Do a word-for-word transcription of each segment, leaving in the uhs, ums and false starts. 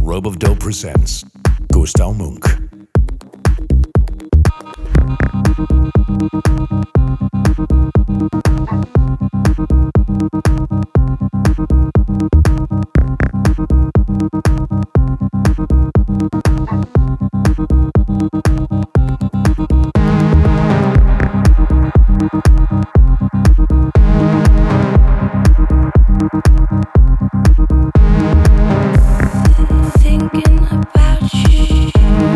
Rope of Dope presents Gustav Munk. Thinking about you.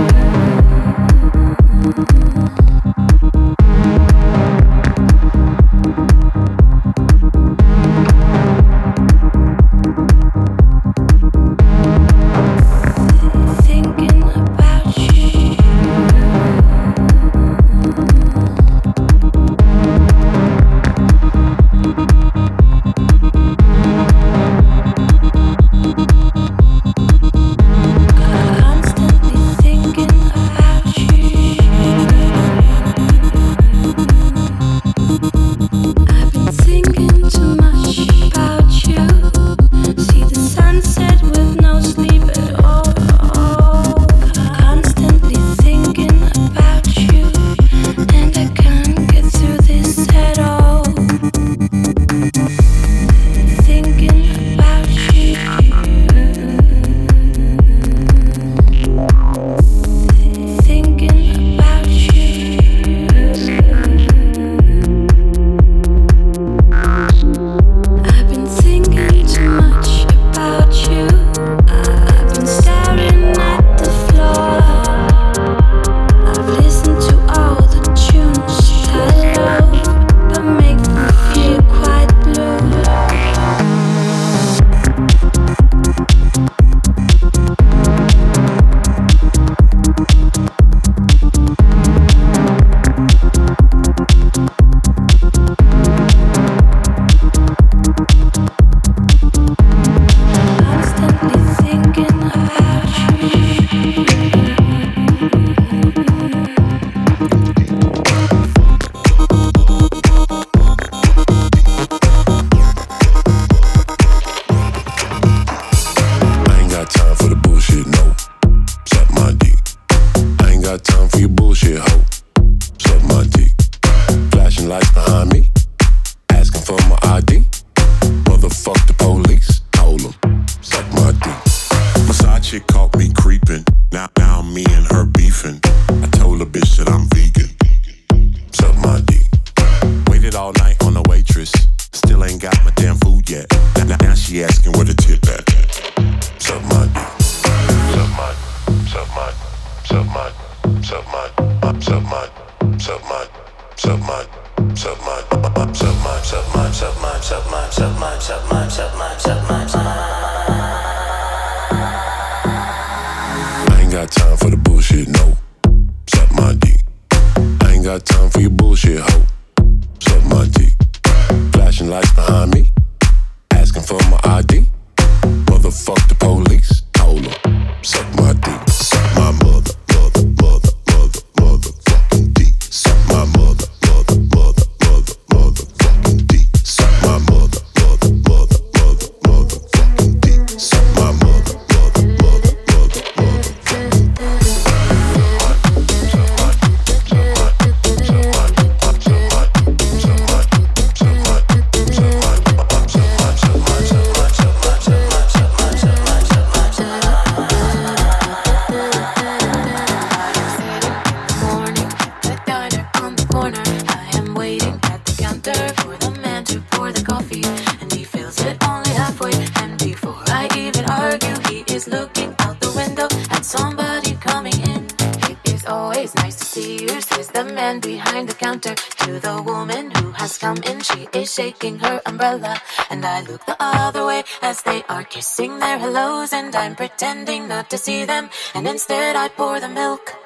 Shaking her umbrella, and I look the other way as they are kissing their hellos, and I'm pretending not to see them, and instead I pour the milk.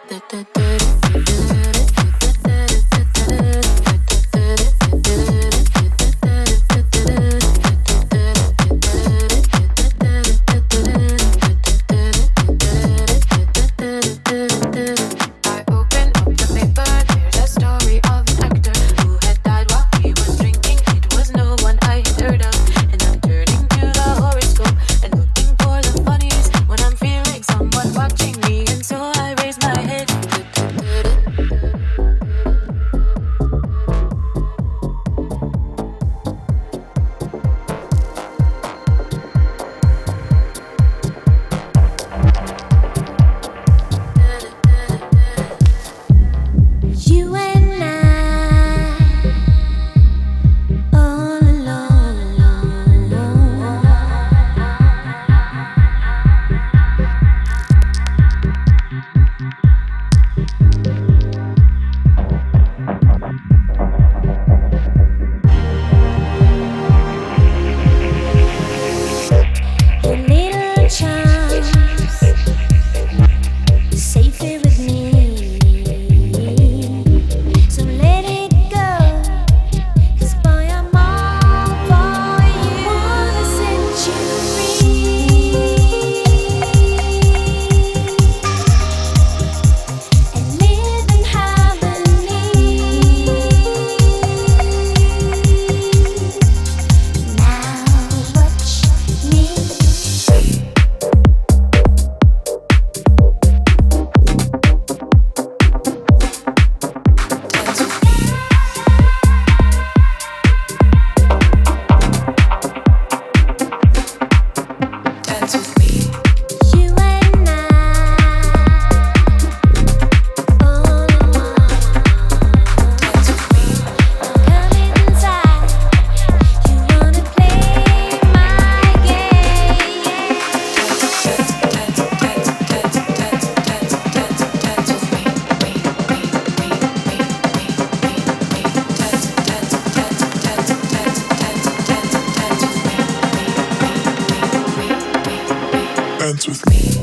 dance with me.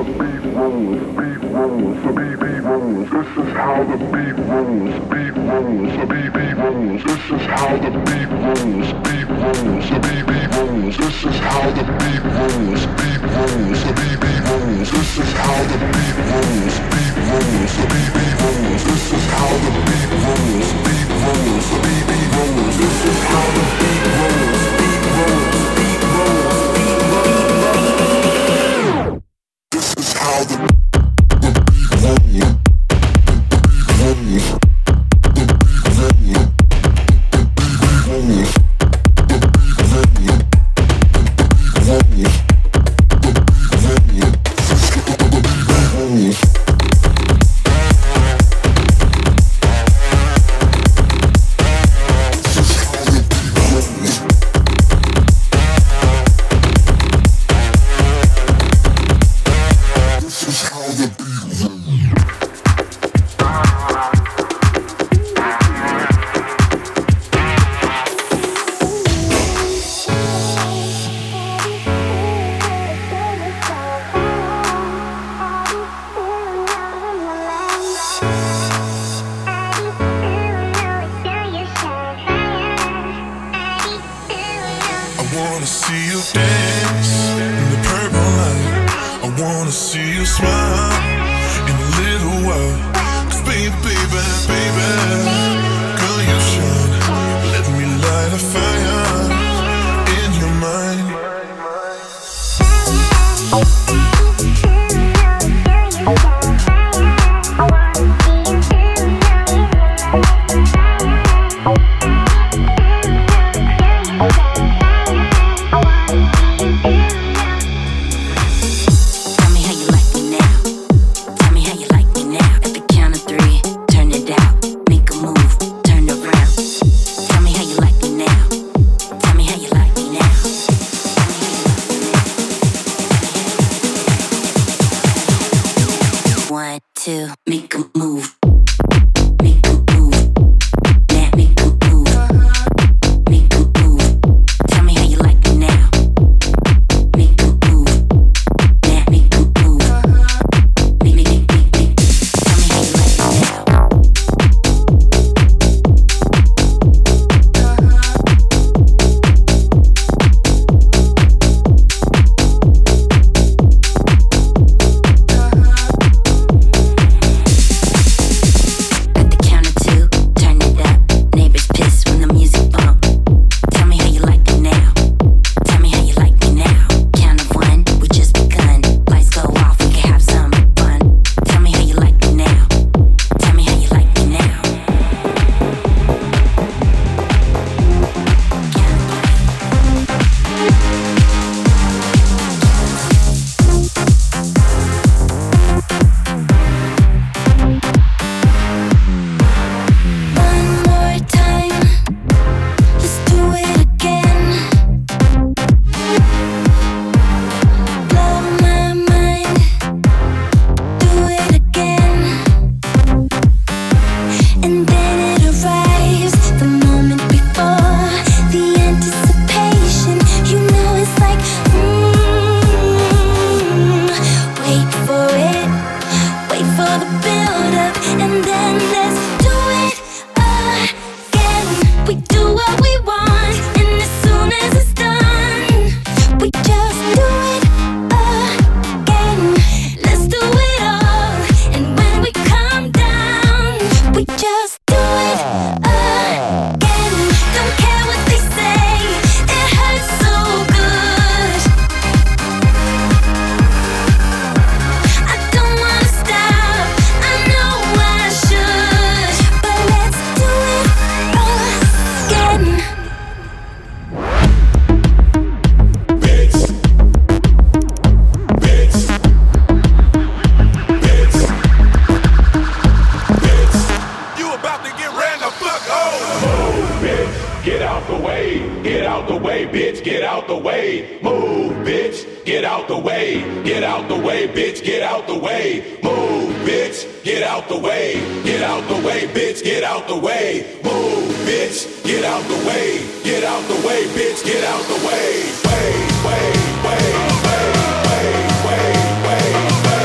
Way, way, way, way, way, way, way, way.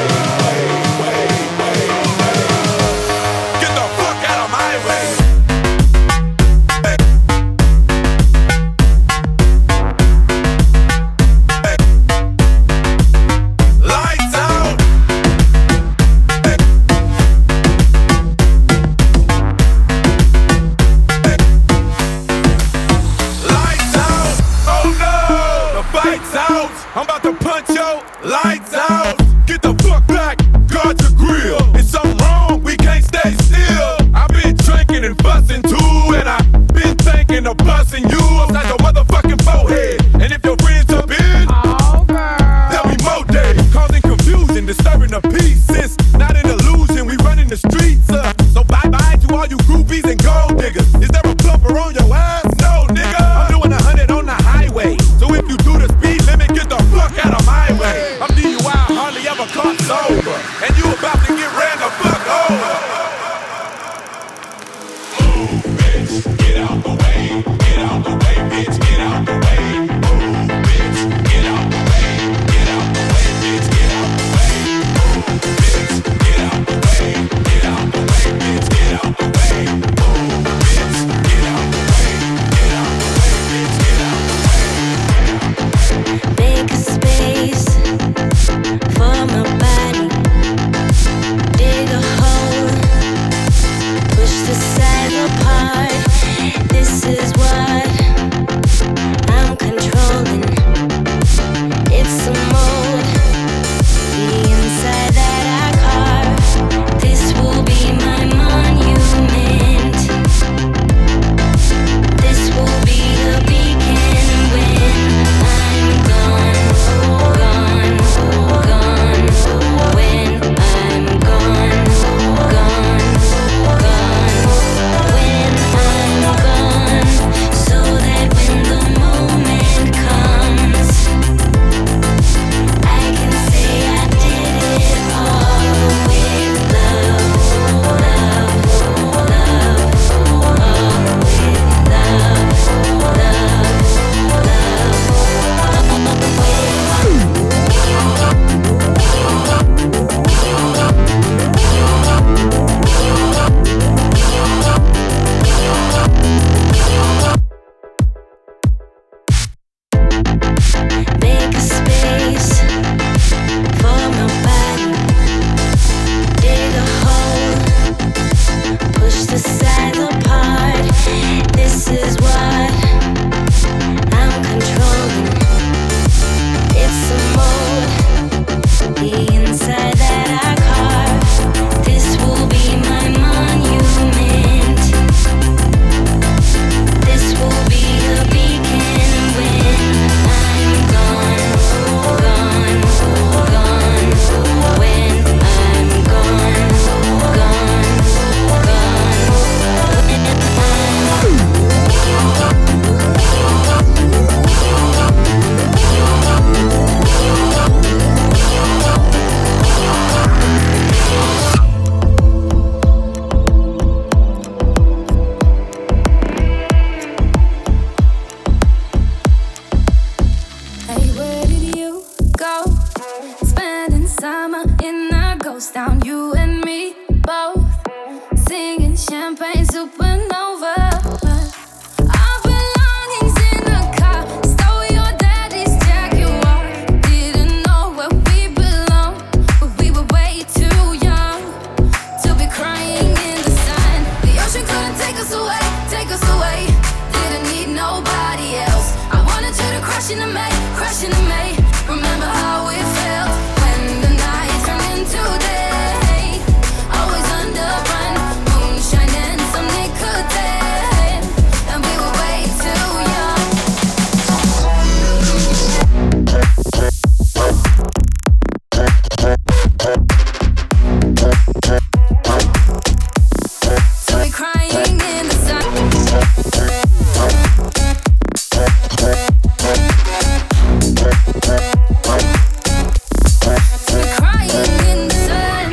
to punch your lights out. Get the fuck back, guard your grill. It's something wrong, we can't stay still. I've been drinking and busting too, and I've been thinking of busting you upside your motherfucking forehead. And if your friends have been, oh, there'll be more days causing confusion, disturbing the peace. It's not an illusion, we running the streets up. So bye bye to all you groupies and gold diggers. Is there a plumper on your ass? No, nigga. I'm doing a hundred on the highway. So if you do the speed limit, get the fuck out of my way. I'm D U I, hardly ever caught sober, and you about to get ran the fuck over. Move, bitch, get out the way. Get out the way, bitch, get out the way. Move, bitch, get out the way. Get out the way, bitch, get out the way. Move, bitch, get out the way. Get out the way, bitch, get out the way. Move, bitch, get out the way. Get out the way, bitch, get out the way. Make a space for my body. Dig a hole, push the side apart. This is what I'm controlling. It's a mode, the inside that I carve. This will be my monument. This will be the beacon when I'm gone, gone, gone. When I'm gone, gone, gone. When I'm gone, so that when the moment comes, I can say I did it all with love, love, love, all with love, love, Make a space for my body. Dig a hole, push the sides apart. This is what I'm controlling. It's a mode, the inside that I carve. This will be my monument. This will be the beacon when I'm gone, gone, gone. When I'm gone, gone, gone. When Hey, where did you go? Spending summer in a ghost town, you and me both. Singing champagne supernova. Our belongings in a car. Stole your daddy's Jaguar. Didn't know where we belong, but we were way too young to be crying in the sun. The ocean couldn't take us away, take us away. Didn't need nobody else. I wanted you to crash into me, crash into me. Remember how it felt when the night turned into day. Always under run, moonshine and some nicotine, and we were way too young. To be crying in the sun. To be crying in the sun.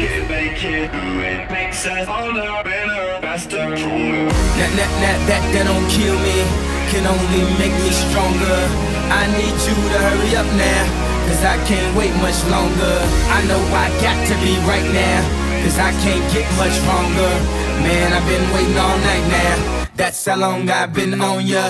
That, that, that, that, that don't kill me, can only make me stronger. I need you to hurry up now, cause I can't wait much longer. I know I got to be right now, cause I can't get much longer. Man, I've been waiting all night now, that's how long I've been on ya.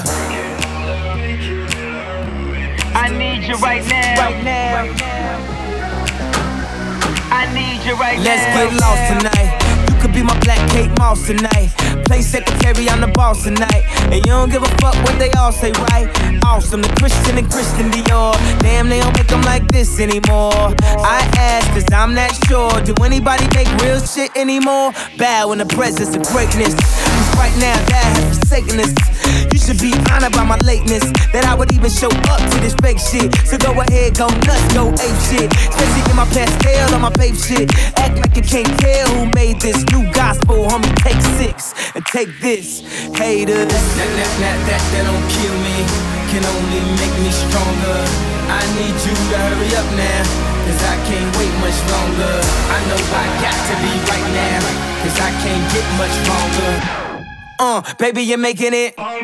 I need you right now, right now. I need you right Let's now. Let's get lost tonight. You could be my black Kate Moss tonight. Play secretary, I'm the boss tonight. And you don't give a fuck what they all say, right? Awesome, the Christian and Christian Dior. Damn, they don't make them like this anymore. I ask, cause I'm not sure. Do anybody make real shit anymore? Bow in the presence of greatness. Cause right now, that has forsaken us. You should be honored by my lateness, that I would even show up to this fake shit. So go ahead, go nuts, go ape shit. Especially in my pastel on my babe shit. Act like you can't tell who made this new gospel. Homie, take six and take this, haters. That, that, that, that, that don't kill me, can only make me stronger. I need you to hurry up now, cause I can't wait much longer. I know I got to be right now, cause I can't get much longer. Uh, baby, you're making it. I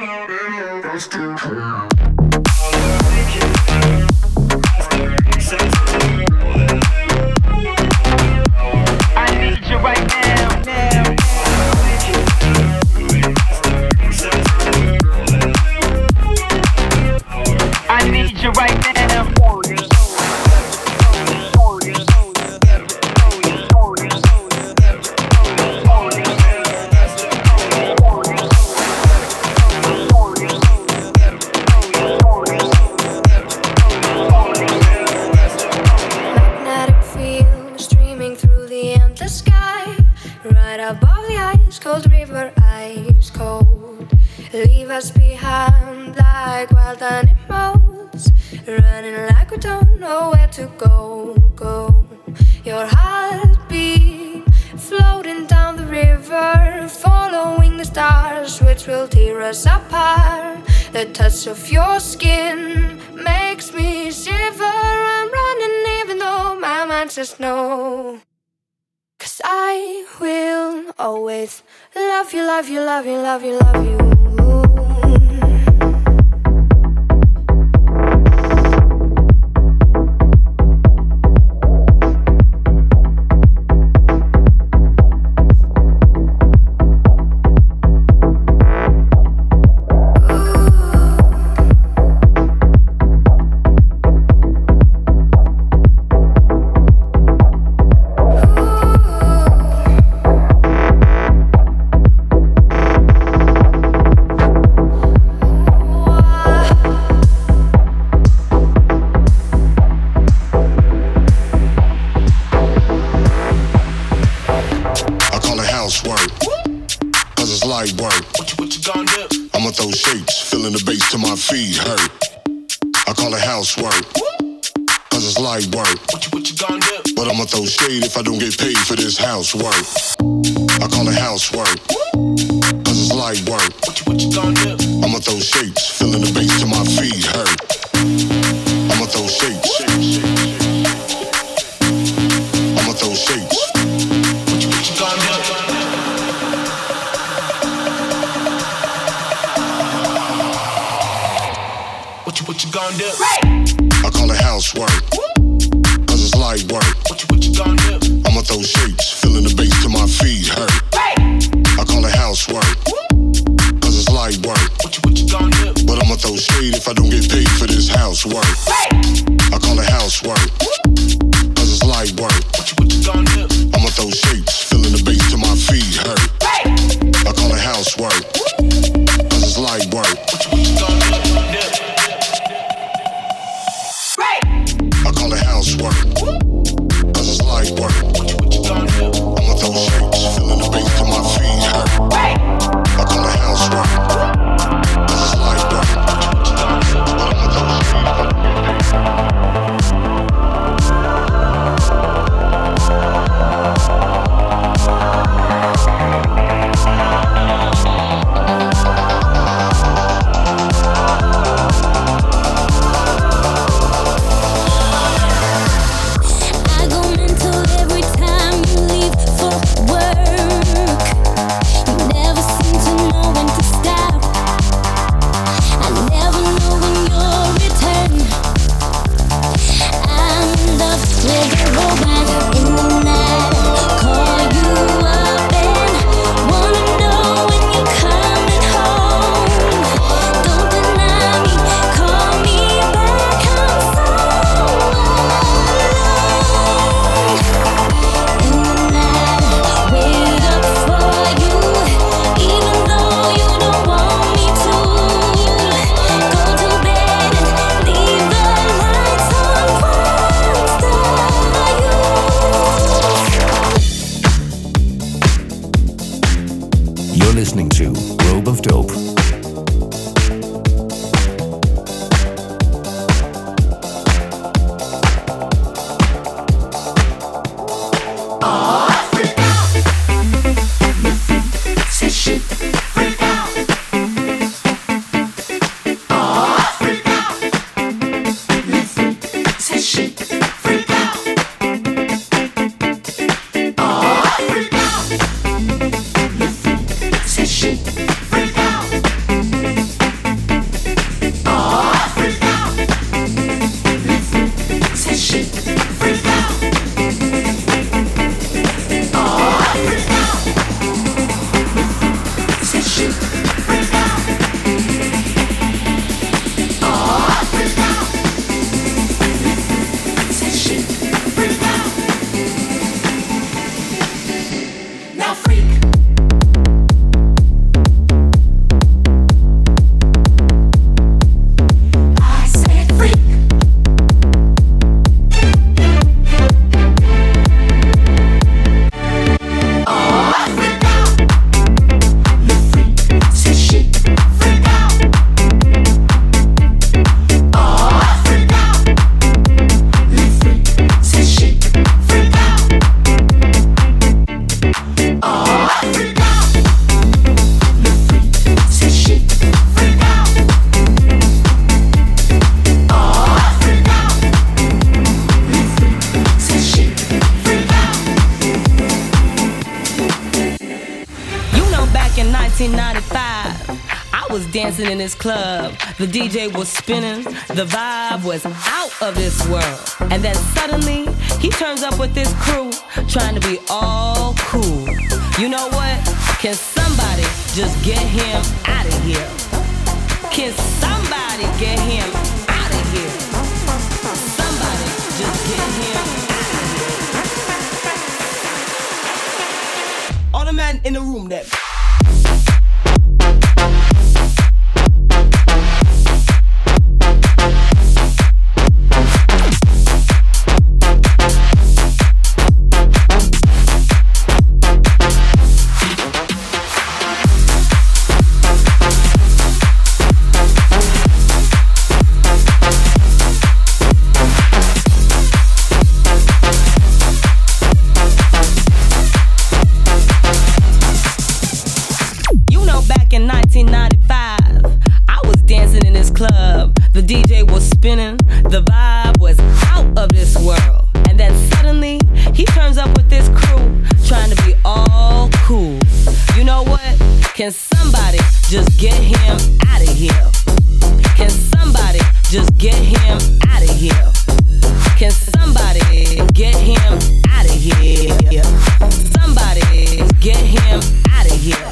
need you right now. now. I need you right now. Cold river, ice cold. Leave us behind like wild animals, running like we don't know where to go, go. Your heartbeat floating down the river, following the stars which will tear us apart. The touch of your skin makes me shiver. I'm running even though my mind says no. Cause I will always love you, love you, love you, love you, love you. Feet hurt. I call it housework, cause it's light work. What you, what you gonna do? But I'ma throw shade if I don't get paid for this housework. I call it housework, cause it's light work. What you, what you gonna do? I'ma throw shapes, feeling the bass till my feet hurt. I'ma throw shapes. I'ma throw shapes. What you, what you gonna do? What you gonna do? I call it housework, cause it's light work. What you, what you gonna do? I'ma throw shapes, feeling the bass till my feet hurt. I call it housework, cause it's light work. What you, what you gonna do? But I'ma throw shade if I don't get paid for this housework. I call it housework, cause it's light work. What you, what you gonna do? I'ma throw shapes, feeling the bass till my feet hurt. I call it housework, cause it's light work. What you, what you gonna do? dancing in this club. The D J was spinning, the vibe was out of this world. And then suddenly, he turns up with this crew, trying to be all cool. You know what? Can somebody just get him out of here? Can somebody get him out of here? Somebody just get him out of here. All the men in the room there. The D J was spinning, the vibe was out of this world. And then suddenly, he turns up with this crew, trying to be all cool. You know what? Can somebody just get him out of here? Can somebody just get him out of here? Can somebody get him out of here? Somebody get him out of here.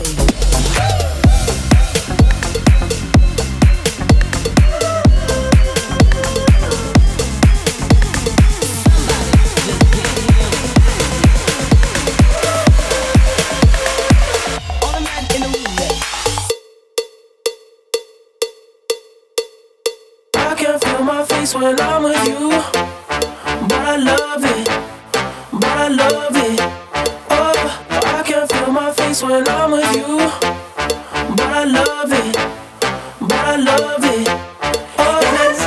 When I'm with you, but I love it, but I love it. Oh, I can feel my face when I'm with you, but I love it, but I love it. Oh, let's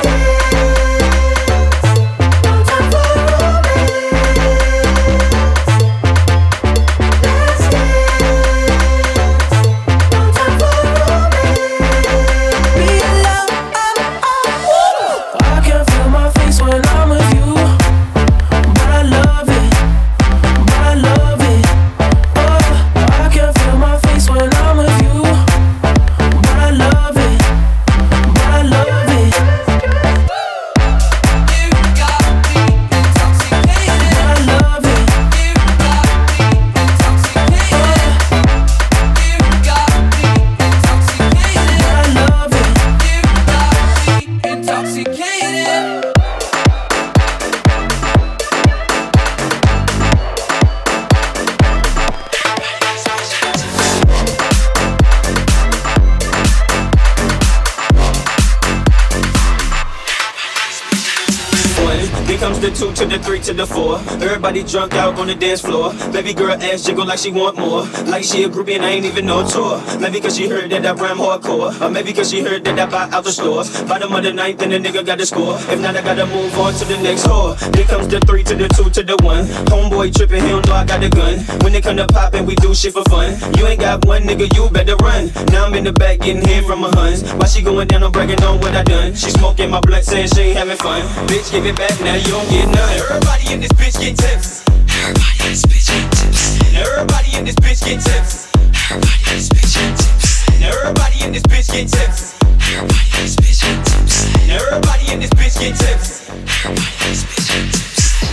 two to the three to the four. Everybody drunk out on the dance floor. Baby girl ass jiggle like she want more. Like she a groupie and I ain't even no tour. Maybe cause she heard that I rhyme hardcore. Or maybe cause she heard that I buy out the stores. Bottom of the ninth and the nigga got the score. If not I gotta move on to the next whore. Here comes the three to the two to the one. Homeboy tripping, he don't know I got the gun. When it come to poppin', we do shit for fun. You ain't got one nigga, you better run. Now I'm in the back getting hit from my huns. While she going down, I'm bragging on what I done. She smoking my blunt saying she ain't having fun. Bitch, give it back, now you don't get none. Everybody in this bitch get tips. Everybody in this bitch get tips. Everybody in this bitch get tips. Everybody in this bitch get tips. Everybody in this bitch get tips. Everybody in this bitch get tips. Everybody in this bitch get tips. Everybody in this bitch get tips.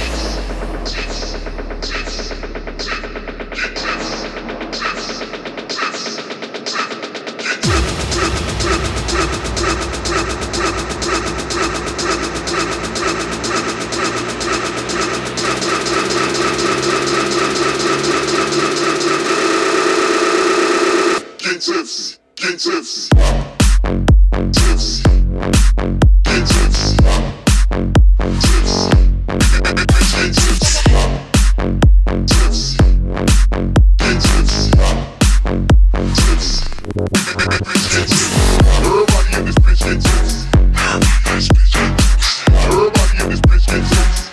Get tips, get tips, tips, get tips, tips, get tips, tips, get tips, tips, everybody in this bitch get tips, everybody in this bitch get tips,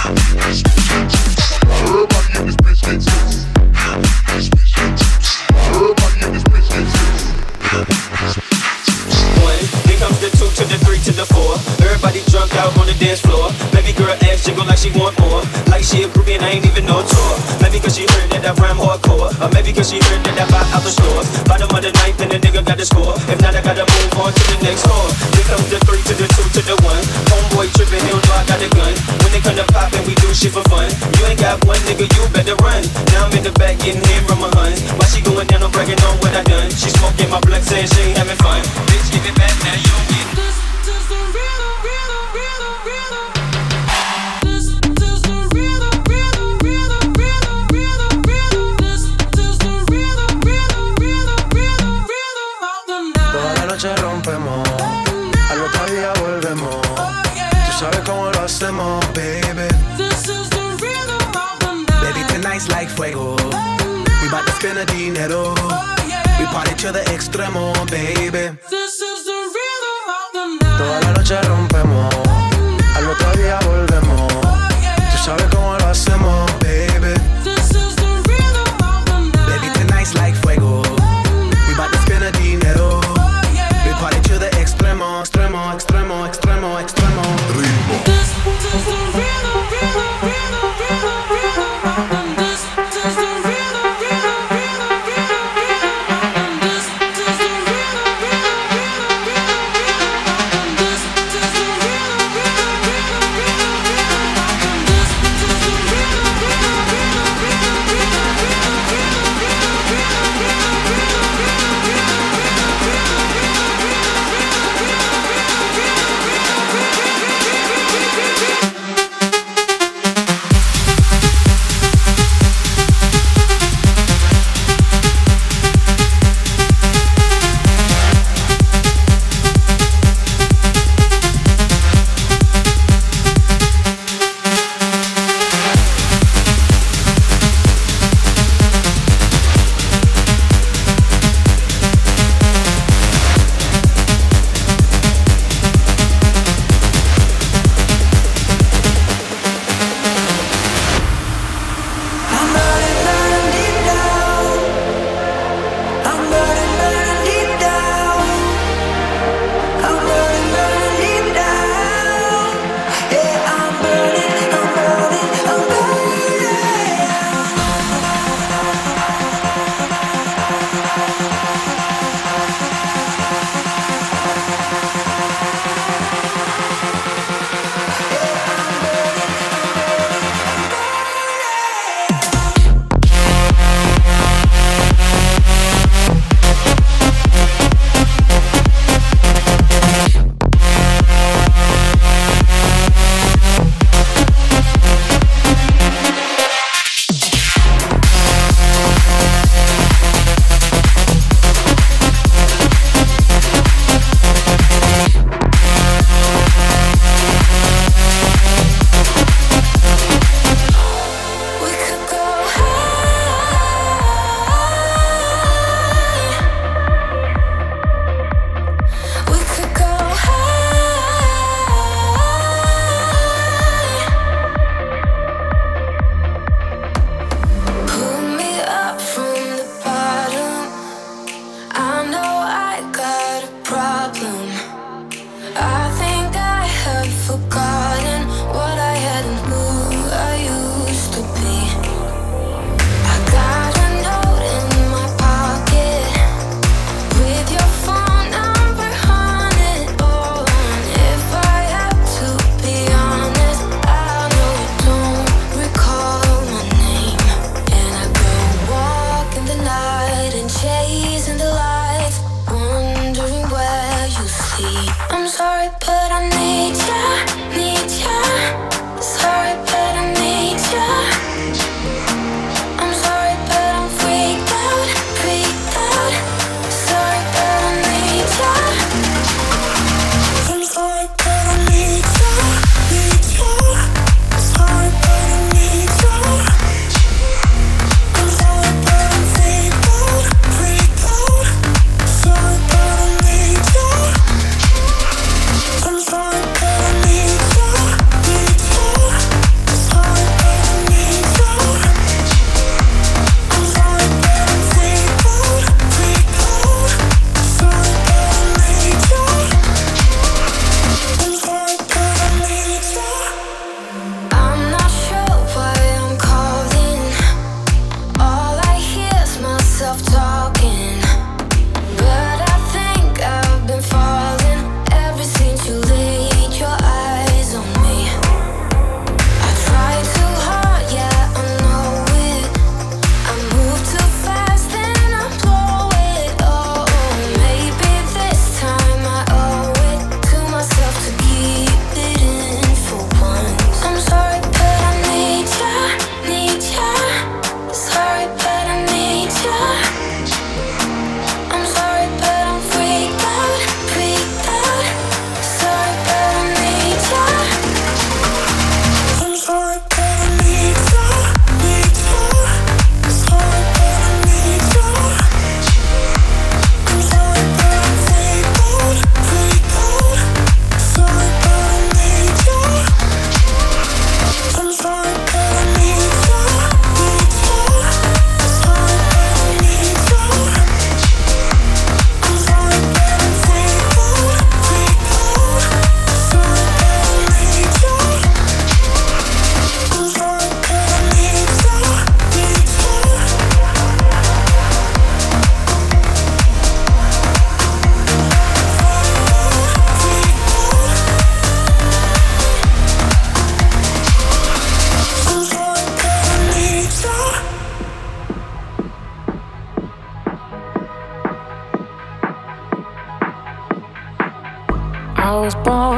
everybody in this bitch get tips, everybody in this bitch get tips. One, here comes the two to the three to the four. Everybody drunk out on the dance floor. Baby girl ass jiggle like she want more. Like she a groupie and I ain't even no tour. Maybe cause she heard that I rhyme hardcore, or maybe cause she heard that I buy out the stores. Bottom of the ninth and the nigga got the score. If not, I gotta move on to the next score. Here comes the three to the two to the one. Homeboy tripping, he don't know I got a gun. When they come to pop and we do shit for fun. You ain't got one nigga, you better run. Now I'm in the back getting hit from my hun. While she going down, I'm bragging on what I done. She smoking my blunt, saying she ain't having fun. Bitch, give it back now, you don't get this. This is the rhythm, rhythm, rhythm, rhythm. This is the rhythm, rhythm, rhythm, rhythm, rhythm, rhythm. This is the rhythm, rhythm, rhythm, rhythm, rhythm of the night. Toda la noche rompemos, al otro día volvemos. Tú sabes cómo lo hacemos, baby. This is the rhythm of the night. Baby, tonight's like fuego. We bout to spend the dinero. We party to the extremo, baby. This is the rhythm of the night. Toda la noche rompemos, al otro día volvemos. Tú sabes cómo lo hacemos, baby. This is the rhythm of the night. Baby, tonight's like fuego. We bout to spend the dinero. We party to the extremo, extremo, extremo, extremo, extremo. Ritmo. This is the rhythm, rhythm, rhythm, rhythm, rhythm of the night. This is the rhythm, rhythm, rhythm, rhythm, rhythm. And this is the rhythm, rhythm, rhythm, rhythm, rhythm. And this is the rhythm, rhythm, rhythm, rhythm, rhythm. And this is the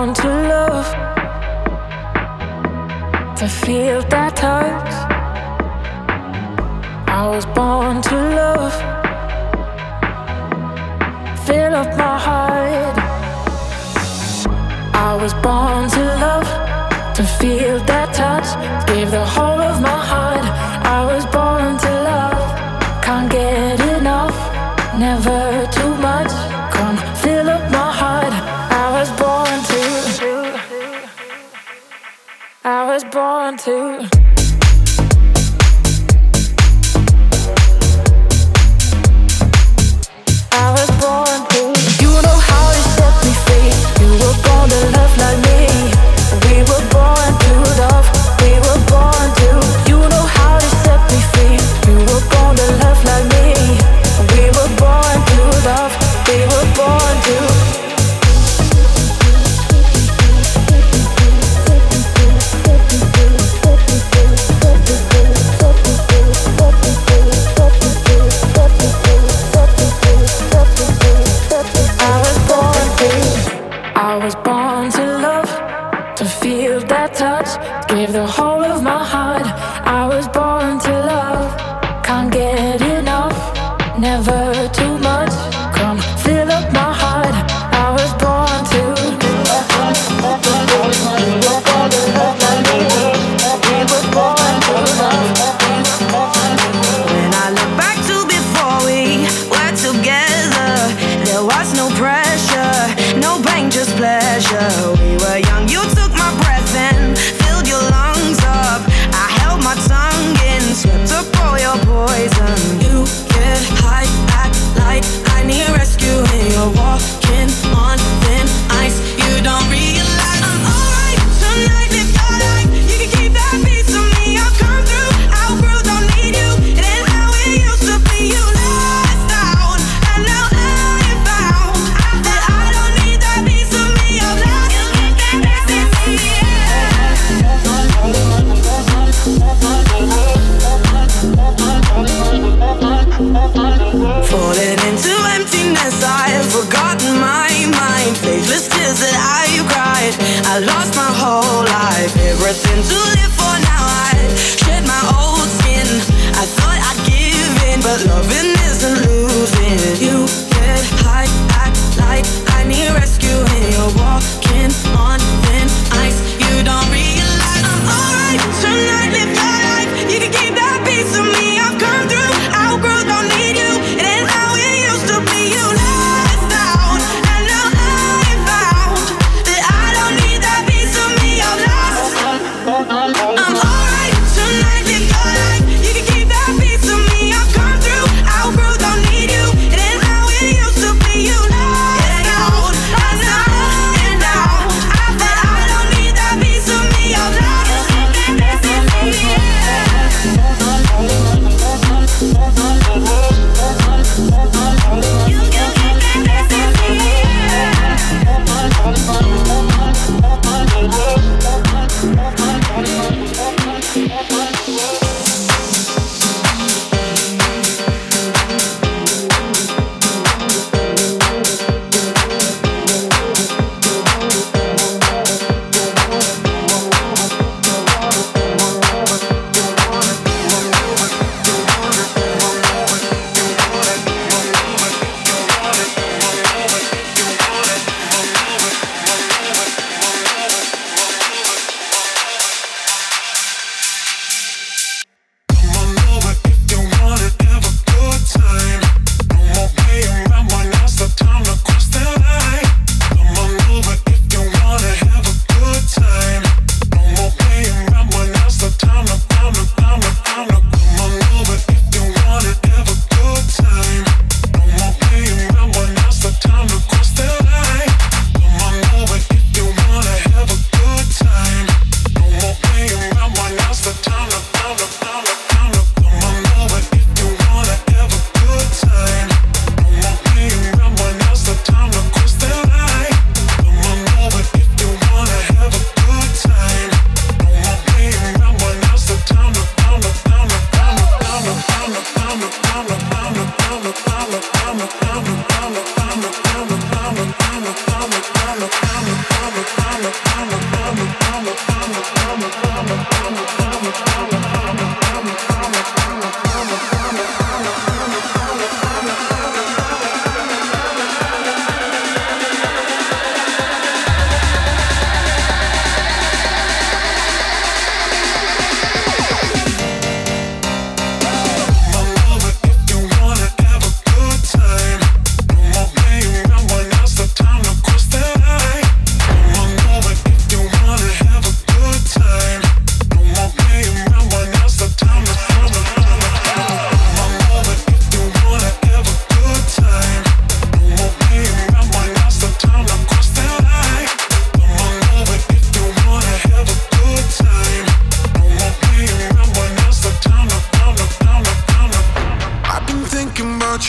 born to love, to feel that touch. I was born to love, fill up my heart. I was born to love, to feel that touch, give the whole of my heart. I was born to love, can't get enough, never too much. Come fill up my heart. I was born to, I was born to. I was born to. You know how to set me free. You were born to love like me. We were born to love. We were born to. You know how to set me free. You were born to love like me. We were born to love. We were born to. I was born to love, to feel that touch, give the whole of my heart. I was born to love, can't get enough, never too much. Come fill up my heart. I was born to. We were born to love like me. We were born to love. When I look back to before we were together, there was no pressure, no pain, just pleasure. We were young, you took my breath and filled your lungs up. I held my tongue in, swept up all your poison. You get high, act like I need rescue, and you're walking on thin ice. You don't realize I'm alright tonight. Live your life, you can keep that piece of me. I'll come through, outgrow, don't need you. It ain't how it used to be. You lost out, and now I am found that I don't need that piece of me. I'm lost. You can get that piece of me. Falling into emptiness, I have forgotten my mind. Faithless tears that I cried, I lost my whole life. Everything to live for now, I shed my old skin. I thought I'd give in, but loving isn't losing. You get high, act like I need rescue, and you're walking on thin ice. You don't realize I'm alright tonight. Live your life, you can keep that piece of me. I've come through, outgrow, don't need you. It ain't how it used to be. You lost out, and now I am found that I don't need that piece of me. I'm lost. I'm alright tonight. Live your life, you can keep that piece of me. I've come through, outgrow, don't need you. It ain't how it used to be. You lost out, and now and now that I don't need that piece of me. I'm lost.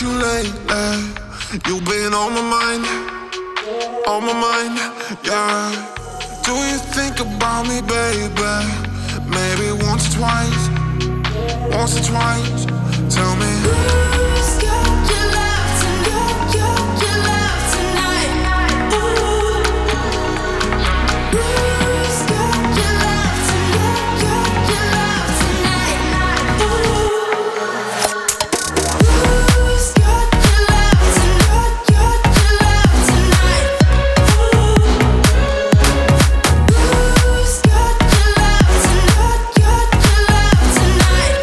you lately. You've been on my mind, on my mind, yeah. Do you think about me, baby? Maybe once or twice, once or twice. Tell me who's got your love tonight? Your, your love tonight. Ooh. Who's got your love tonight? Your, your love tonight. Ooh. Who's got your love tonight? Your, your love tonight. Ooh. Who's got your love tonight? Your, your love tonight.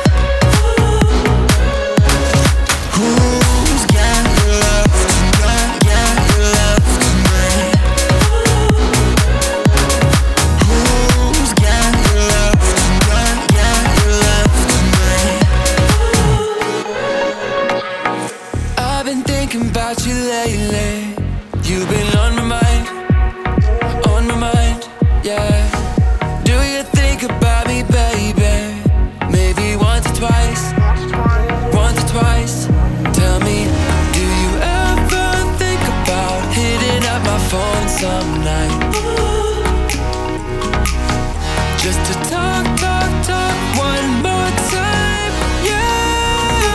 Who's got your love tonight? Got your love tonight. Who's got your love tonight? Got your love tonight. I've been thinking about you lately. You've been on my mind, on my mind, yeah. Do you think about me, baby? Maybe once or twice, once or twice. Tell me, do you ever think about hitting up my phone some night? Just to talk, talk, talk one more time, yeah.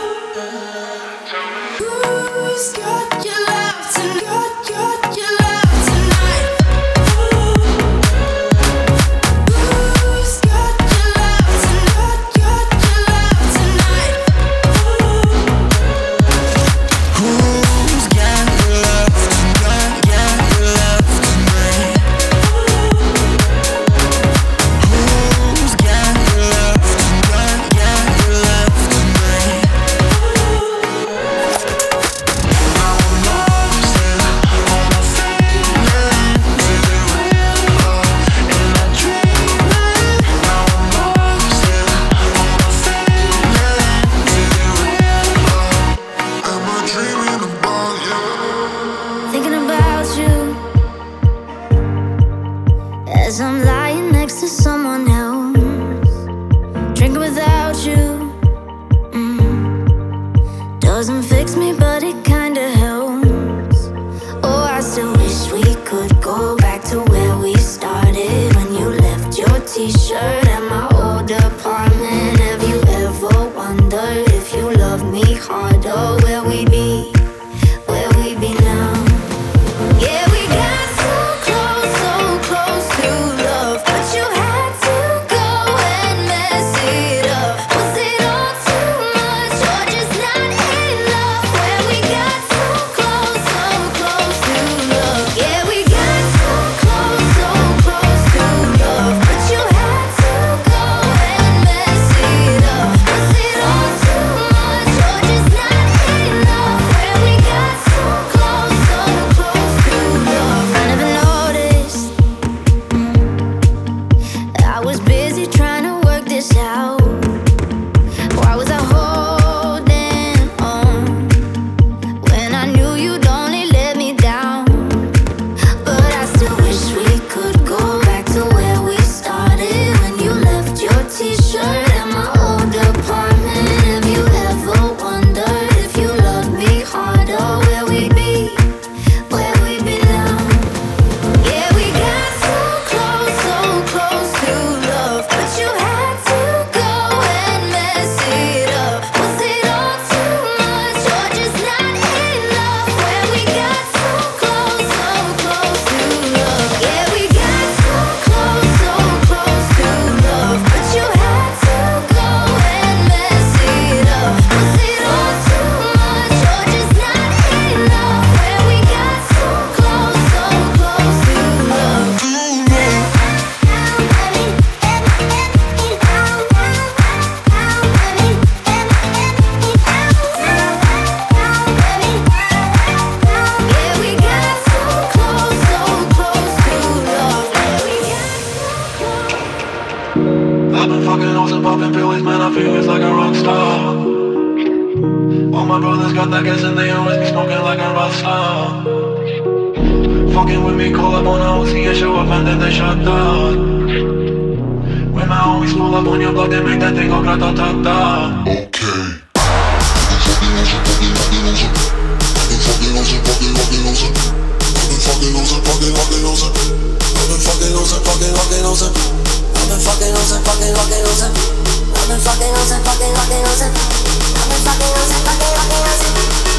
Who's got your love tonight? Got your love tonight. Who's got your love tonight? Got your love tonight. Who's got your love tonight? Got your love tonight. Who's got your love tonight? Got your love tonight. Now I'm lost in all my feelings. Is it real love? Am I dreaming? Now I'm lost in all my feelings. Is it real love? Am I dreaming about you? Thinking about you as I'm lying next to someone else, drinking without you. Mm. Doesn't fix me, but it kinda helps. Oh, I still wish we could go back to where we started, when you left your t-shirt at my old apartment. Have you ever wondered if you loved me harder? Where we be? Where we be now? Yeah, we got so close, so close to love, but you had to go and mess it up. Was it all too much or just not enough? Where we got so close, so close to love. Yeah, we got so close, so close to love, but you had to go and mess it up. Was it all too much or just not enough? Where we got so close, so close to love. I never noticed. I was busy trying to work this out. Why was I holding on when I knew you'd only let me down? But I still wish we could go back to where we started, when you left your t-shirt at my old apartment. Have you ever wondered if you loved me harder? Where we be? Where we be now? Yeah, we got so close, so close to love, but you had to go and mess it up. Was it all too much or just not enough? Where we got so close, so close to love. Yeah, we got so close, so close to love, but you had to go and mess it up. Was it all too much or just not enough? Where we got so close, so close to love. Yeah, we got so close, so close to love. Yeah, we got so close. I've been fucking hoes and popping pills, man, I feel it's like a rock star. All my brothers got that gas and they always be smoking like a rock star. Fucking with me, call up on a O C and show up and then they shut down. When my homies pull up on your block, they make that thing go grata-ta-ta. Okay. fucking, fucking losing. I've been fucking losing, fucking, fucking losing. I've been fucking losing, fucking, fucking losing. I've been fucking losing, fucking, fucking losing. I've been fucking losing, fucking, fucking losing.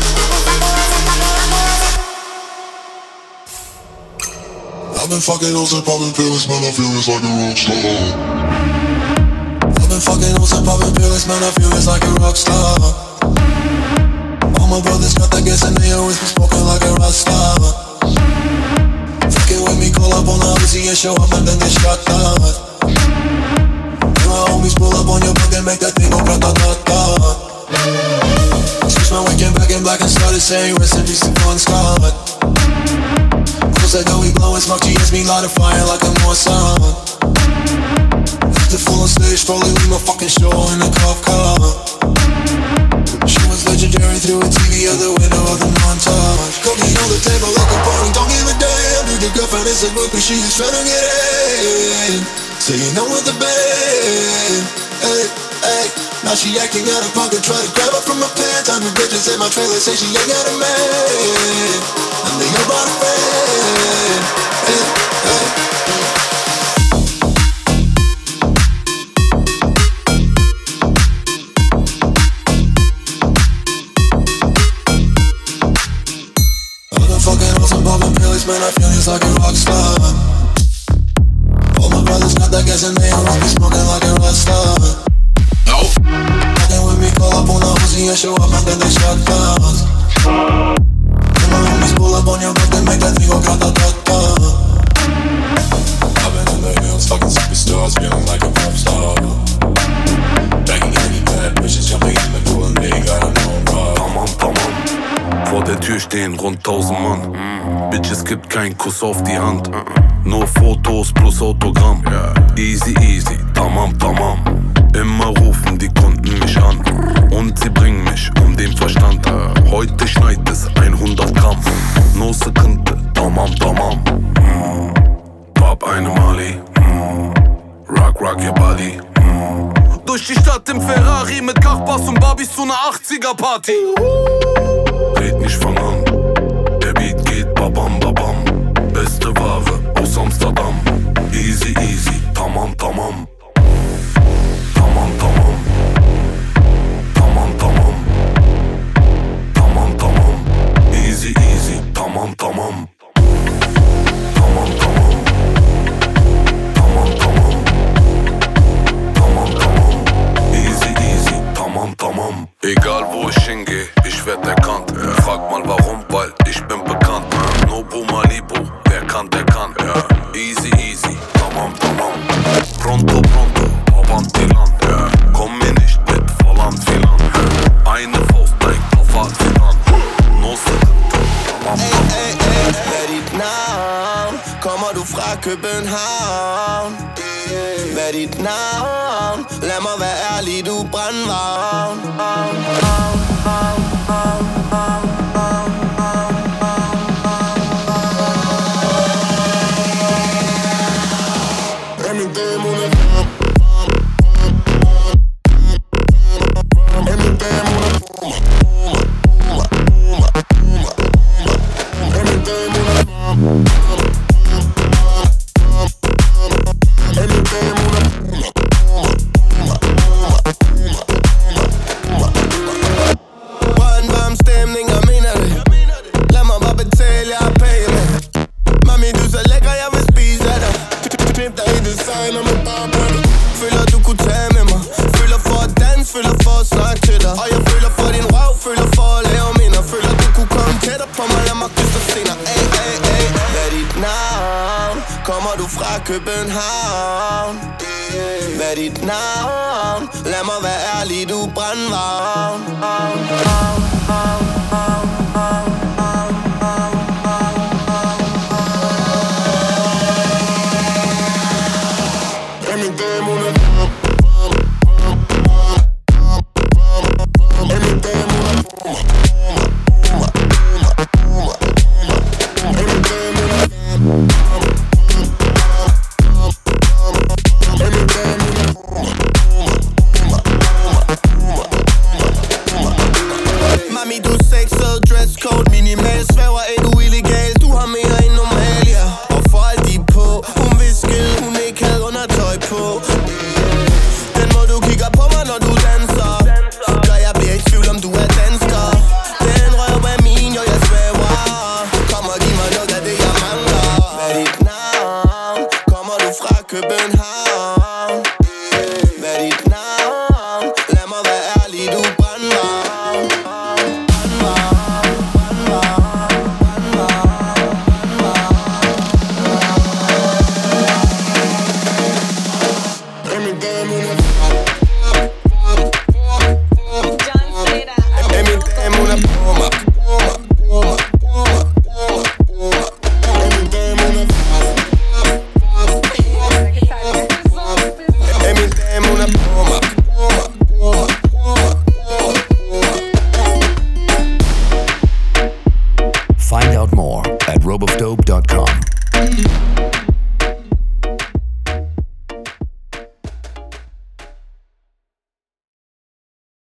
I've been fucking losing, popping pills, man, I feel it's like a rock star. I've been fucking losing, popping pills, man, I feel it's like a rock star. All my brothers got that gas and they always been smoking like a rock star. Fucking with me, call up on the Uzi and show up and then get shot down. And my homies pull up on your block and make that thing go grata-ta-ta. Switch my weekend back in black and started saying rest in peace to Bon Scott. Said that we blowin' smoke, G S me light a fire like a Mossad. After full on stage, probably leave my fucking show in a cop car. She was legendary through a T V out the window of the montage. Cooking on the table like a party, don't give a damn. Dude, your girlfriend is a book, but she just tryna get in. Saying no with the band. Hey, hey. Now she acting out of pocket, try to grab her from my pants. I'm the bitches in my trailer, say she ain't got a man. And they know about a friend. Hey, hey. I've been fucking on some poppin' pills, man, I feel it's like a rock star. All my brothers got that gas and they always be smoking like a rock star. No. Fucking with me, call up on the Uzi and show up and then they shot downs. And my homies pull up on your block and make that thing go grata-ta-ta. I've been in the hills, fucking superstars, feeling like a pop star. Banging any bad bitches, jumping in the pool and they gotta know I'm Tamam, tamam. Vor der Tür stehen rund tausend Mann. mm. Bitch, es gibt keinen Kuss auf die Hand. uh -uh. Nur Fotos plus Autogramm. yeah. Easy, easy, tamam, tamam. Immer rufen die Kunden mich an und sie bringen mich um den Verstand. Heute schneit es hundert Gramm. No sıkıntı, tamam tamam. mm. Pop eine Mali. mm. Rock, rock your body. mm. Durch die Stadt im Ferrari mit Kachbass und Barbies zu ner achtziger Party. Red nicht von an, der Beat geht babam babam. Beste Ware aus Amsterdam. Easy, easy, tamam tamam. Tamam tamam. Tamam tamam. Tamam tamam. Easy easy. Tamam tamam. Tamam tamam. Tamam tamam. Tamam tamam. Easy easy. Tamam tamam. Egal wo ich hingehe, ich werd erkannt. Frag mal warum, weil ich bin bekannt. Nobu Malibu, wer kann, der kann. Easy easy. Tamam tamam. Pronto pronto. Avanti lan, yeah. Komm mir nicht mit falan filan. Eine Faust, dein Koffer filan. No sıkıntı, tamam tamam. Ey ey ey, wer dit navn? Kommer du fra København? Hvad dit navn? Lad mig være ærlig, du brandvagn. København. Hvad dit navn? Lad mig være ærlig, du brandvagn. dope of dope dot com.